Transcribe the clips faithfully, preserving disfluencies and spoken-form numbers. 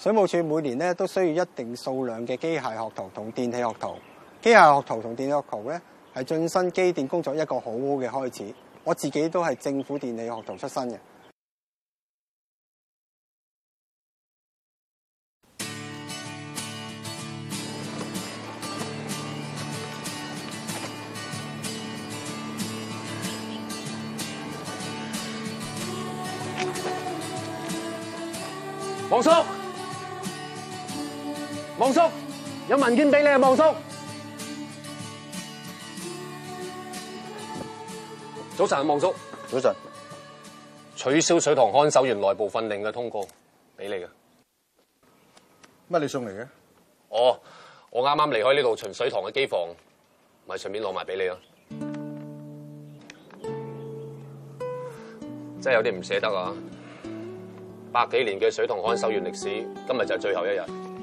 水務署每年咧都需要一定數量嘅機械學徒同電氣學徒。機械學徒同電氣學徒咧係晉身機電工作一個好好嘅開始。我自己都係政府電氣學徒出身嘅。 王叔，王叔，有文件俾你啊，王叔。早晨啊，王叔。 早晨。 取消水塘看守員內部訓令嘅通告，俾你嘅。 乜你送嚟嘅？ 哦，我啱啱離開呢度巡水塘嘅機房，咪順便攞埋俾你咯。真係有啲唔捨得啊！百幾年嘅水塘看守員歷史，今日就係最後一日。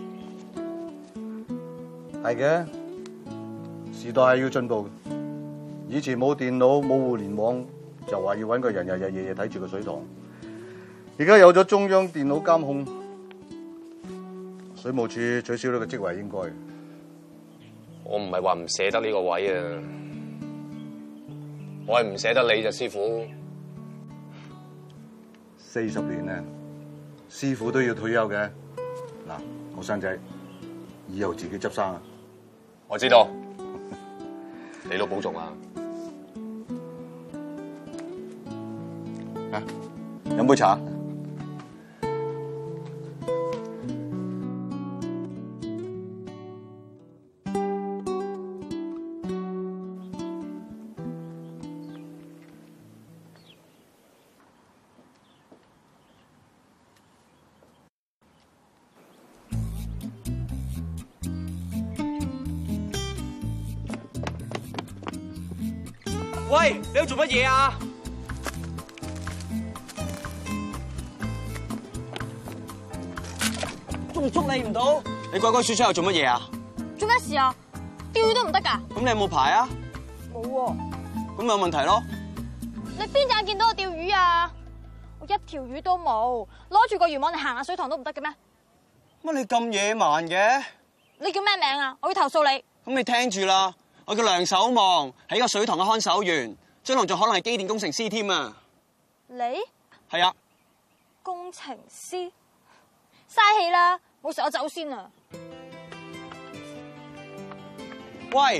係嘅，時代係要進步。以前冇電腦冇互聯網，就話要搵個人日日夜夜睇住個水塘。而家有咗中央電腦監控，水務署取消呢個職位應該。 我唔係話唔捨得呢個位啊，我係唔捨得你啫，師傅。 四十年咧。師傅都要退休嘅，嗱，我生仔以後自己執生啊！ 我知道，你都保重啊！ 啊，飲杯茶。 喂，你喺度做乜嘢啊？仲捉你唔到？你鬼鬼祟祟又做乜嘢啊？ 做咩事啊？釣魚都唔得㗎？ 咁你有冇牌啊？ 冇喎。 咁有問題咯？ 你邊隻眼見到我釣魚啊？我一條魚都冇，攞住個漁網嚟行下水塘都唔得嘅咩？ 乜你咁野蠻嘅？ 你叫咩名啊？我要投訴你。 咁你聽住啦。我叫梁守望，係一個水塘嘅看守員，將來仲可能係機電工程師添啊！ 你係啊， 工程師，嘥氣啦，冇事我走先啊！ 喂，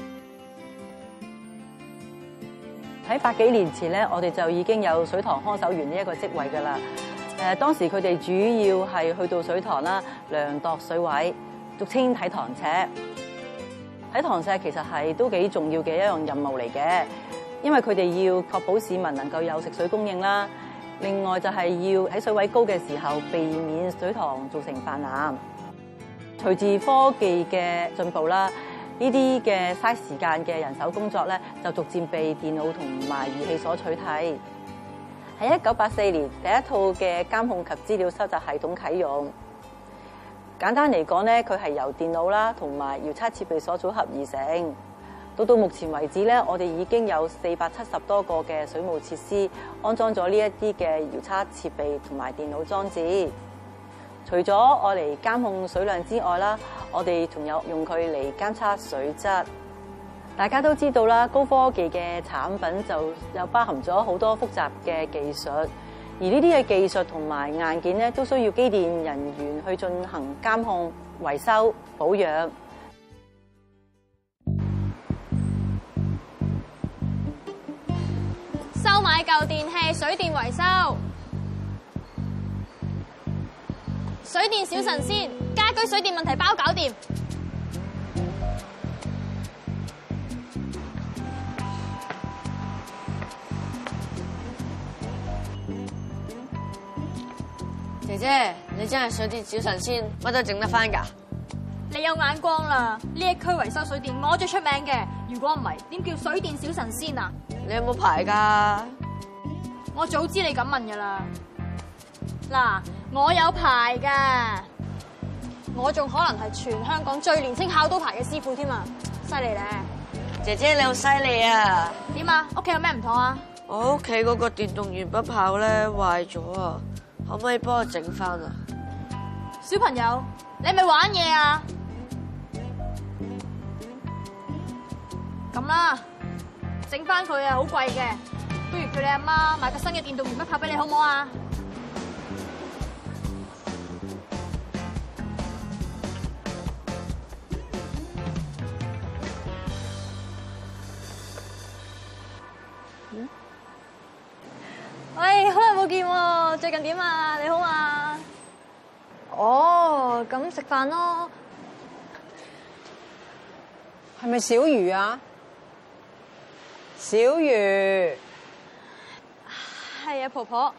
喺百幾年前咧，我哋就已經有水塘看守員呢一個職位噶啦。誒，當時佢哋主要係去到水塘啦，量度水位，俗稱睇塘尺。睇塘尺其實係都幾重要嘅一樣任務嚟嘅，因為佢哋要確保市民能夠有食水供應啦。另外就係要喺水位高嘅時候避免水塘造成泛濫。隨住科技嘅進步啦，呢啲嘅嘥時間嘅人手工作咧，就逐漸被電腦同埋儀器所取替。喺一九八四年，第一套嘅監控及資料收集系統啟用。簡單嚟講咧，佢係由電腦啦同埋遙測設備所組合而成。到到目前為止咧，我哋已經有四百七十多個嘅水務設施安裝咗呢一啲嘅遙測設備同埋電腦裝置。除咗我嚟監控水量之外啦，我哋仲有用佢嚟監測水質。大家都知道啦，高科技嘅產品就又包含咗好多複雜嘅技術。而呢啲嘅技術同埋硬件咧，都需要機電人員去進行監控、維修、保養。 收買舊電器、水電維修、水電小神仙，家居水電問題包搞掂。 姐姐，你真係水電小神仙，乜都整得翻㗎？ 你有眼光啦！呢一區維修水電我最出名嘅，如果唔係，點叫水電小神仙啊？ 你有冇牌㗎？ 我早知你咁問㗎啦。嗱，我有牌㗎，我仲可能係全香港最年輕考到牌嘅師傅添啊！犀利咧！ 姐姐你好犀利啊！ 點啊？屋企有咩唔妥啊？ 我屋企嗰個電動鉛筆炮咧壞咗啊！可唔可以幫我整翻啊？ 小朋友，你係咪玩嘢啊？咁啦，整翻佢啊，好貴嘅，不如叫你阿媽買個新嘅電動鉛筆拍俾你，好唔好啊？嗯？喂，好耐冇見喎，最近點啊？你好啊？哦，咁食飯咯。 係咪小魚啊？小魚， 係啊，婆婆。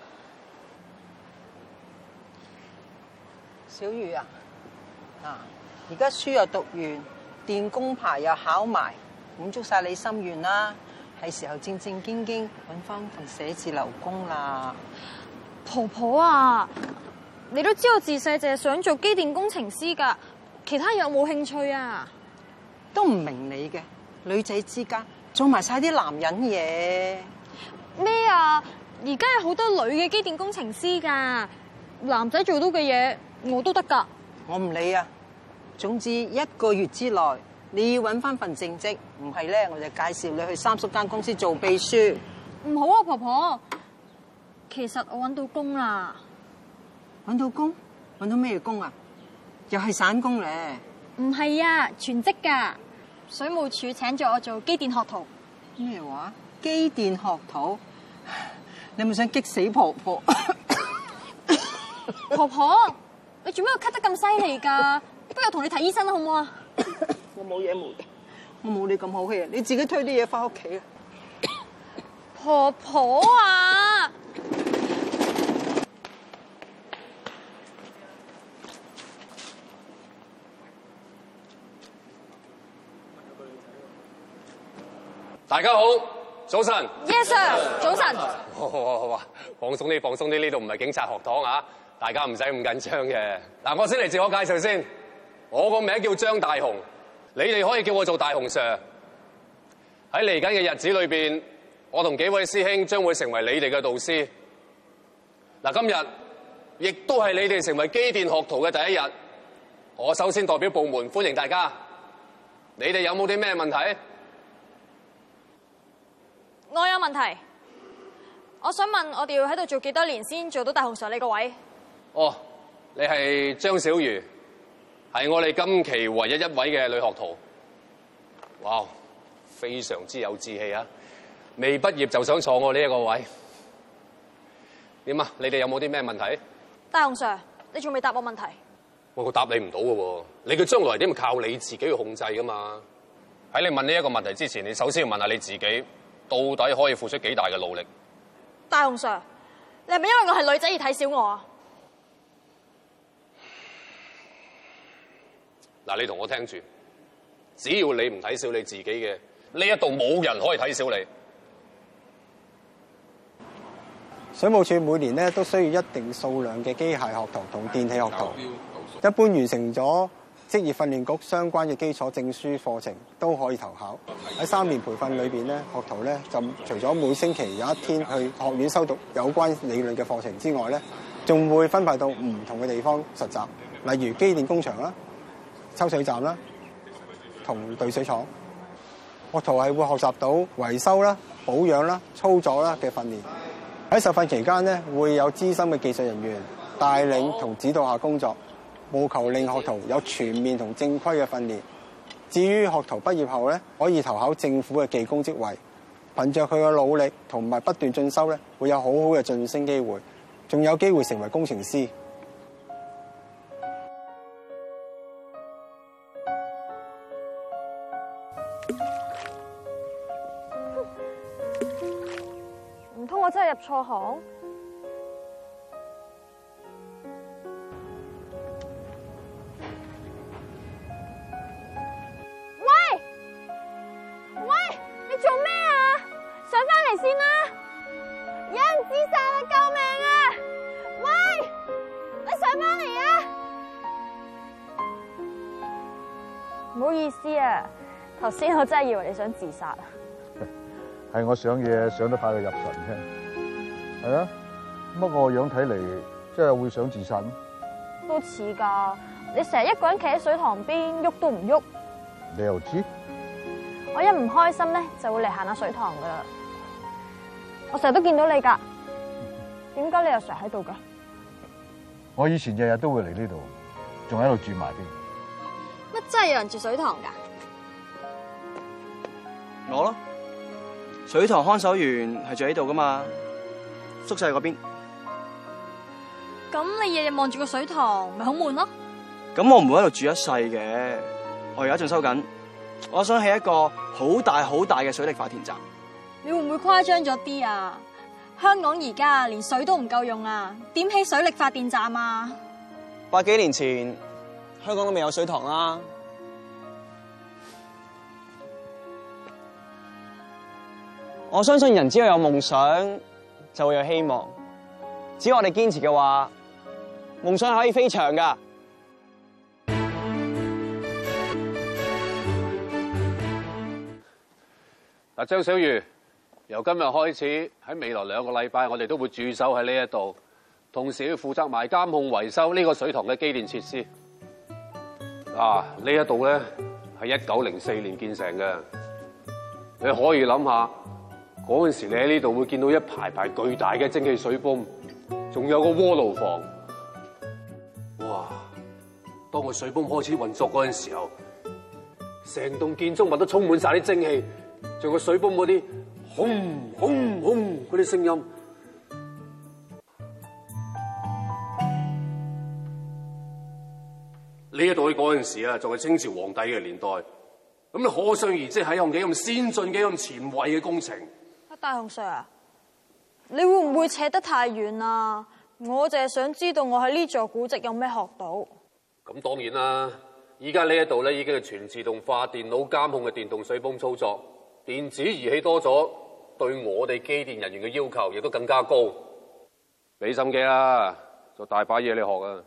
小魚啊，嗱，而家書又讀完，電工牌又考埋，滿足晒你心願啦，係時候正正經經揾翻份寫字樓工啦。 婆婆啊，你都知道自細淨係想做機電工程師㗎，其他有冇興趣啊？ 都唔明你嘅，女仔之間做埋晒啲男人嘢。 咩啊？而家有好多女嘅機電工程師㗎，男仔做到嘅嘢我都得㗎。 我唔理啊，總之一個月之內你要揾翻份正職，唔係咧我就介紹你去三叔間公司做秘書。 唔好啊，婆婆。其實我揾到工啦。 揾到工？揾到咩工啊？又係散工咧？ 唔係啊，全職㗎。水務署請咗我做機電學徒。 咩話？機電學徒？你咪想激死婆婆？ 婆婆，你做咩咳得咁犀利㗎？不如同你睇醫生啦，好唔好啊？ 我冇嘢冇嘅，我冇你咁好氣啊！你自己推啲嘢翻屋企啊！ 婆婆啊！ 大家好，早晨。 Yes sir， 早晨。 好好好啊，放鬆啲，放鬆啲，呢度唔係警察學堂啊，大家唔使咁緊張嘅。嗱，我先嚟自我介紹先，我個名叫張大雄，你哋可以叫我做大雄 Sir。喺嚟緊嘅日子裏邊，我同幾位師兄將會成為你哋嘅導師。嗱，今日亦都係你哋成為機電學徒嘅第一日。我首先代表部門歡迎大家。你哋有冇啲咩問題？ 我有問題，我想問我哋要喺度做幾多年先做到大雄 Sir 呢個位？ 哦，你係張小瑜，係我哋今期唯一一位嘅女學徒。哇，非常之有志氣啊！未畢業就想坐我呢一個位，點啊？你哋有冇啲咩問題？ 大雄 Sir，你仲未答我問題？ 我個答你唔到嘅喎，你嘅將來係點靠你自己去控制噶嘛？喺你問呢一個問題之前，你首先要問下你自己。到底可以付出幾大嘅努力？ 大雄 Sir，你係咪因為我係女仔而睇小我啊？ 嗱，你同我聽住，只要你唔睇小你自己嘅，呢一度冇人可以睇小你。 水務署每年咧都需要一定數量嘅機械學徒同電氣學徒，一般完成咗職業訓練局相關嘅基礎證書課程都可以投考。喺三年培訓裏邊咧，學徒咧就除咗每星期有一天去學院修讀有關理論嘅課程之外咧，仲會分派到唔同嘅地方實習，例如機電工場啦、抽水站啦、同濾水廠。學徒係會學習到維修啦、保養啦、操作啦嘅訓練。喺受訓期間咧，會有資深嘅技術人員帶領同指導下工作。務求令學徒有全面同正規嘅訓練。至於學徒畢業後咧，可以投考政府嘅技工職位，憑着佢嘅努力同埋不斷進修咧，會有好好嘅晉升機會，仲有機會成為工程師。 唔通我真係入錯行？先啦！有人自殺啦！救命啊！喂，你上返嚟啊！唔好意思啊，頭先我真係以為你想自殺啊！ 係我想嘢想得快過入神啫。係啊，乜我樣睇嚟真係會想自殺咩？ 都似㗎。你成日一個人企喺水塘邊，喐都唔喐。 你又知？ 我一唔開心咧，就會嚟行下水塘㗎啦。我成日都見到你㗎，點解你又成日喺度㗎？ 我以前日日都會嚟呢度，仲喺度住埋添。 乜真係有人住水塘㗎？ 我咯，水塘看守員係住喺度噶嘛，宿舍嗰邊。 咁你日日望住個水塘，咪好悶咯？ 咁我唔會喺度住一世嘅，我而家仲收緊，我想起一個好大好大嘅水力發電站。 你會唔會誇張咗啲啊？香港而家連水都唔夠用啊，點起水力發電站啊？ 百幾年前香港都未有水塘啦。我相信人只要有夢想，就會有希望。只要我哋堅持嘅話，夢想係可以飛翔㗎。 嗱，張小瑜，由今日開始，喺未來兩個禮拜，我哋都會駐守喺呢一度，同時要負責埋監控維修呢個水塘嘅機電設施。啊，呢一度咧係一九零四年建成嘅，你可以諗下。嗰陣時，你喺呢度會見到一排排巨大嘅蒸汽水泵，仲有個鍋爐房。哇！當個水泵開始運作嗰陣時候，成棟建築物都充滿晒啲蒸汽，仲有個水泵嗰啲轟轟轟嗰啲聲音。呢一度喺嗰陣時啊，仲係清朝皇帝嘅年代。咁你可想而知係用幾咁先進、幾咁前衛嘅工程。 大雄 Sir 啊，你會唔會扯得太遠啊？我淨係想知道我喺呢座古蹟有咩學到。 咁當然啦，依家呢一度咧已經係全自動化、電腦監控嘅電動水泵操作，電子儀器多咗，對我哋機電人員嘅要求亦都更加高。俾心機啦，就大把嘢你學啊！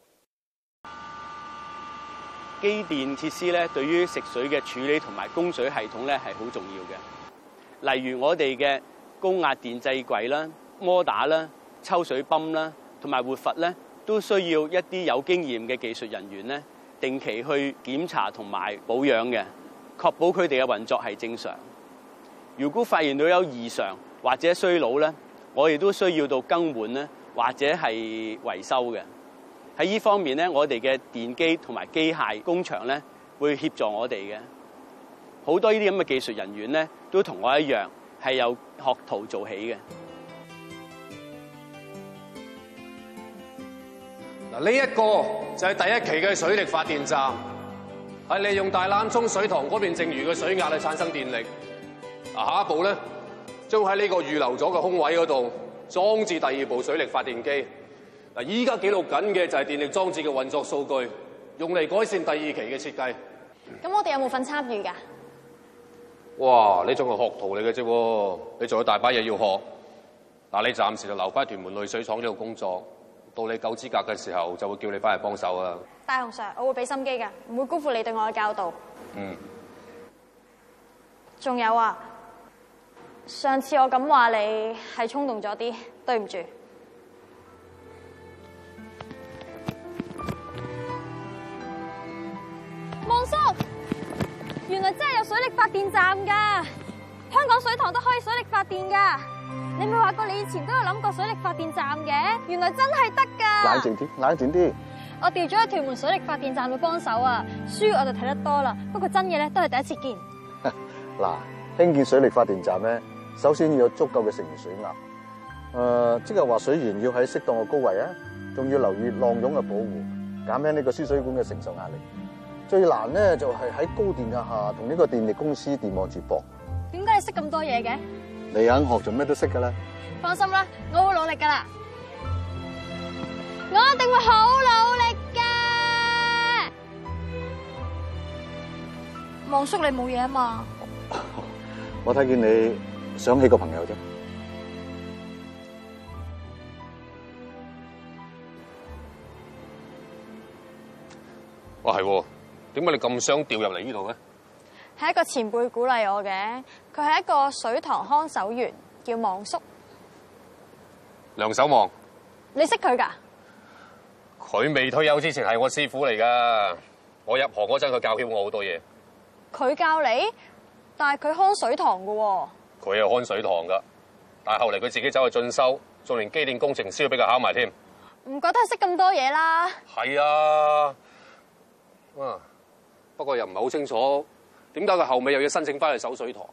機電設施咧，對於食水嘅處理同埋供水系統咧係好重要嘅。例如我哋嘅高壓電制櫃啦、摩打啦、抽水泵啦，同埋活閥咧，都需要一啲有經驗嘅技術人員咧，定期去檢查同埋保養嘅，確保佢哋嘅運作係正常。如果發現到有異常或者衰老咧，我哋都需要到更換咧，或者係維修嘅。喺呢方面咧，我哋嘅電機同埋機械工場咧，會協助我哋嘅。好多呢啲咁嘅技術人員咧，都同我一樣係由學徒做起嘅。 嗱，呢一個就係第一期嘅水力發電站，係利用大欖涌水塘嗰邊剩餘嘅水壓嚟產生電力。啊，下一步咧，將喺呢個預留咗嘅空位嗰度裝置第二部水力發電機。嗱，依家記錄緊嘅就係電力裝置嘅運作數據，用嚟改善第二期嘅設計。 咁我哋有冇份參與㗎？ 哇！你仲係學徒嚟嘅啫，你仲有大把嘢要學。嗱，你暫時就留翻屯門濾水廠呢度工作，到你夠資格嘅時候，就會叫你翻嚟幫手啊。 大雄 Sir，我會俾心機㗎，唔會辜負你對我嘅教導。 嗯。 仲有啊，上次我咁話你係衝動咗啲，對唔住。望叔，原來真係有水力發電站㗎，香港水塘都可以水力發電㗎。你咪話過你以前都有諗過水力發電站嘅，原來真係得㗎。 冷靜啲，冷靜啲。 我調咗去屯門水力發電站去幫手啊，書我就睇得多啦，不過真嘢咧都係第一次見。 嗱，興建水力發電站咧，首先要有足夠嘅剩餘水壓。誒、呃，即係話水源要喺適當嘅高位啊，仲要留意浪湧嘅保護，減輕呢個輸水管嘅承受壓力。最難咧就係喺高電壓下同呢個電力公司電網接駁。 點解你識咁多嘢嘅？ 你肯學就咩都識噶啦。 放心啦，我會努力噶啦，我一定會好努力噶。望叔，你冇嘢啊嘛？ 我睇見你想起個朋友啫。 哇，係喎，點解你咁想調入嚟呢度咧？ 係一個前輩鼓勵我嘅，佢係一個水塘看守員，叫望叔。 梁守望， 你識佢㗎？ 佢未退休之前係我師傅嚟噶，我入行嗰陣佢教曉我好多嘢。 佢教你，但係佢看水塘噶喎。 佢係看水塘噶，但係後嚟佢自己走去進修，仲連機電工程師都俾佢考埋添。 唔覺得係識咁多嘢啦？ 係啊，啊，不過又唔係好清楚，點解佢後尾又要申請翻去守水塘？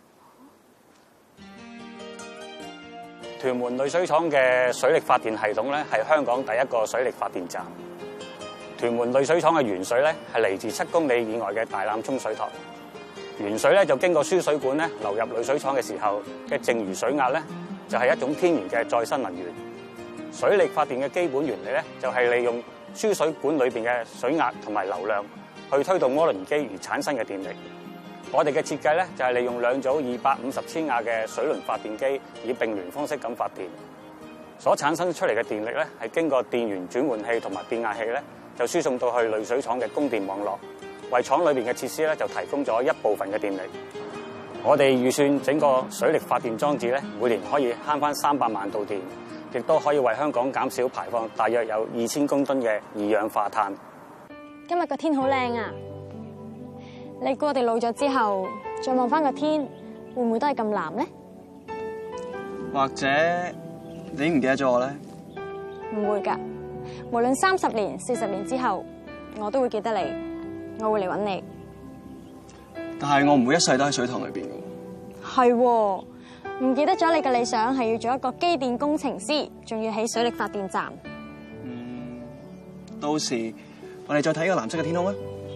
屯門濾水廠嘅水力發電系統咧，係香港第一個水力發電站。屯門濾水廠嘅原水咧，係嚟自七公里以外嘅大欖涌水塘。原水咧就經過輸水管咧流入濾水廠嘅時候嘅剩餘水壓咧，就係一種天然嘅再生能源。水力發電嘅基本原理咧，就係利用輸水管裏邊嘅水壓同埋流量去推動渦輪機而產生嘅電力。我哋嘅設計咧就係利用兩組二百五十千瓦嘅水輪發電機，以並聯方式咁發電，所產生出嚟嘅電力咧係經過電源轉換器同埋變壓器咧，就輸送到去濾水廠嘅供電網絡，為廠裏邊嘅設施咧就提供咗一部分嘅電力。我哋預算整個水力發電裝置咧，每年可以慳翻三百萬度電，亦都可以為香港減少排放大約有二千公噸嘅二氧化碳。 今日個天好靚啊！你估我哋老咗之後，再望翻個天，會唔會都係咁藍咧？ 或者你唔記得咗我咧？ 唔會㗎，無論三十年、四十年之後，我都會記得你，我會嚟揾你。 但係我唔會一世都喺水塘裏邊㗎。 係喎，唔記得咗你嘅理想係要做一個機電工程師，仲要起水力發電站。 嗯，到時我哋再睇個藍色嘅天空啊！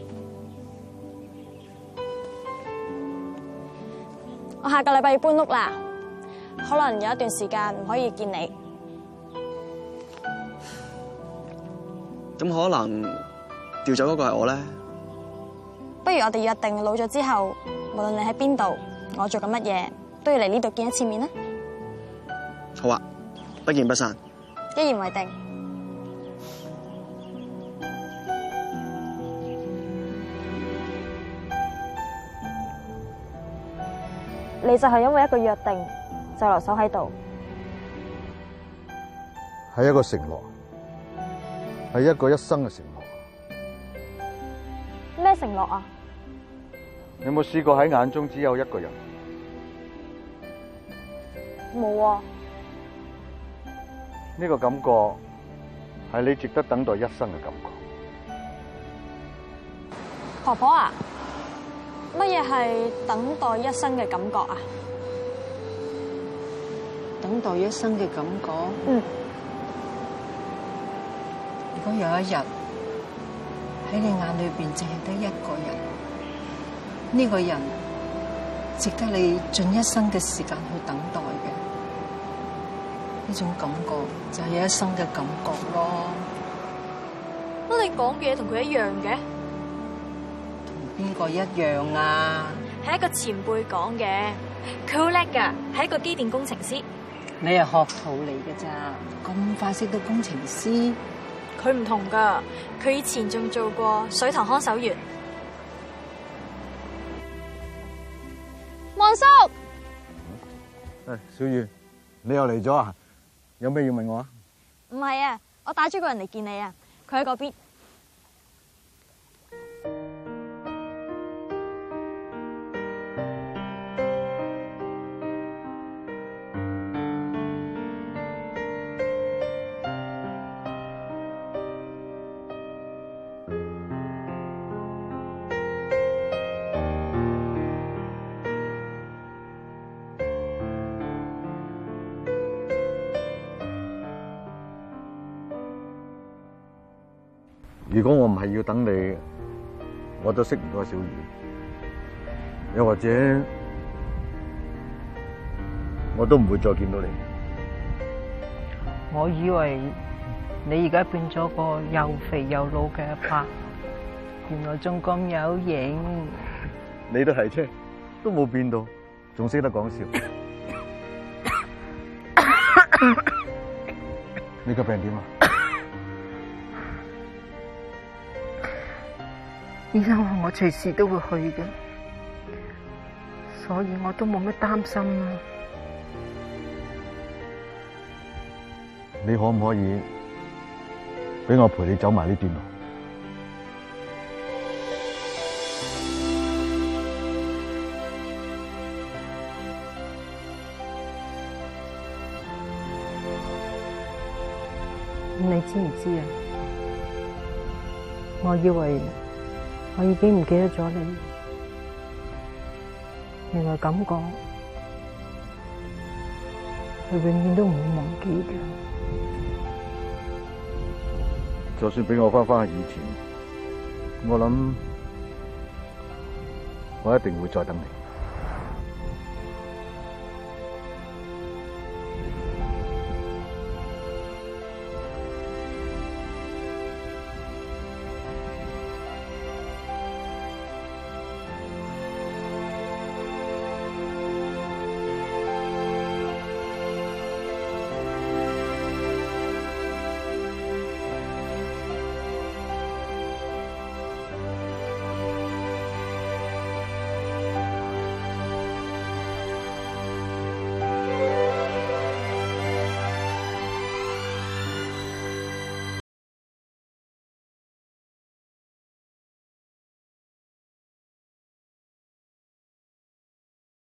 我下個禮拜要搬屋啦，可能有一段時間唔可以見你。 咁可能調走嗰個係我咧？ 不如我哋約定老咗之後，無論你喺邊度，我做緊乜嘢，都要嚟呢度見一次面啦。 好啊，不見不散。 一言為定。你就係因為一個約定，就留守喺度。 係一個承諾，係一個一生嘅承諾。 咩承諾啊？ 你有冇試過喺眼中只有一個人？ 冇啊。 呢個感覺係你值得等待一生嘅感覺。 婆婆啊，乜嘢係等待一生嘅感覺啊？ 等待一生嘅感覺。 嗯。 如果有一日喺你眼裏邊淨係得一個人，呢個人值得你盡一生嘅時間去等待嘅，呢種感覺就係一生嘅感覺咯。 乜你講嘅嘢同佢一樣嘅？ 邊個一樣啊？ 係一個前輩講嘅，佢好叻噶，係一個機電工程師。 你係學徒嚟嘅咋？咁快識到工程師？ 佢唔同噶，佢以前仲做過水塘看守員。望叔， 誒，小雨，你又嚟咗啊？有咩要問我啊？ 唔係啊，我帶咗個人嚟見你啊，佢喺嗰邊。 如果我唔係要等你，我都識唔到小雨。又或者，我都唔會再見到你。 我以為你而家變咗個又肥又老嘅阿伯，原來仲咁有型。 你都係啫，都冇變到，仲識得講笑。你個病點啊？ 醫生話我隨時都會去嘅，所以我都冇乜擔心啦。 你可唔可以俾我陪你走埋呢段路。 你知唔知啊？我以為我已經唔記得咗你，原來感覺係永遠都唔會忘記嘅。 就算俾我翻返去以前，我諗我一定會再等你。